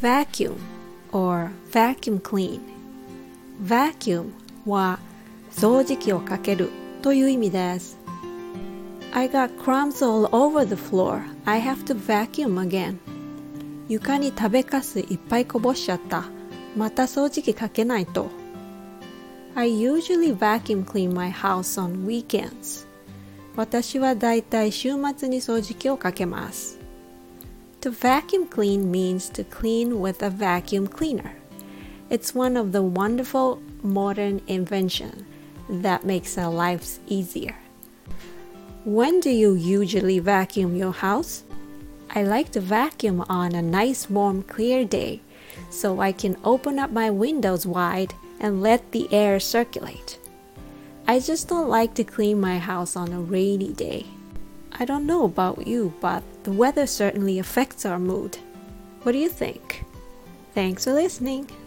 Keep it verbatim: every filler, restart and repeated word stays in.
vacuum or vacuum clean. Vacuum は掃除機をかけるという意味です。I got crumbs all over the floor. I have to vacuum again. 床に食べかすいっぱいこぼしちゃった。また掃除機かけないと。I usually vacuum clean my house on weekends. 私はだいたい週末に掃除機をかけます。To vacuum clean means to clean with a vacuum cleaner. It's one of the wonderful modern inventions that makes our lives easier. When do you usually vacuum your house? I like to vacuum on a nice warm clear day so I can open up my windows wide and let the air circulate. I just don't like to clean my house on a rainy day. I don't know about you, but the weather certainly affects our mood. What do you think? Thanks for listening.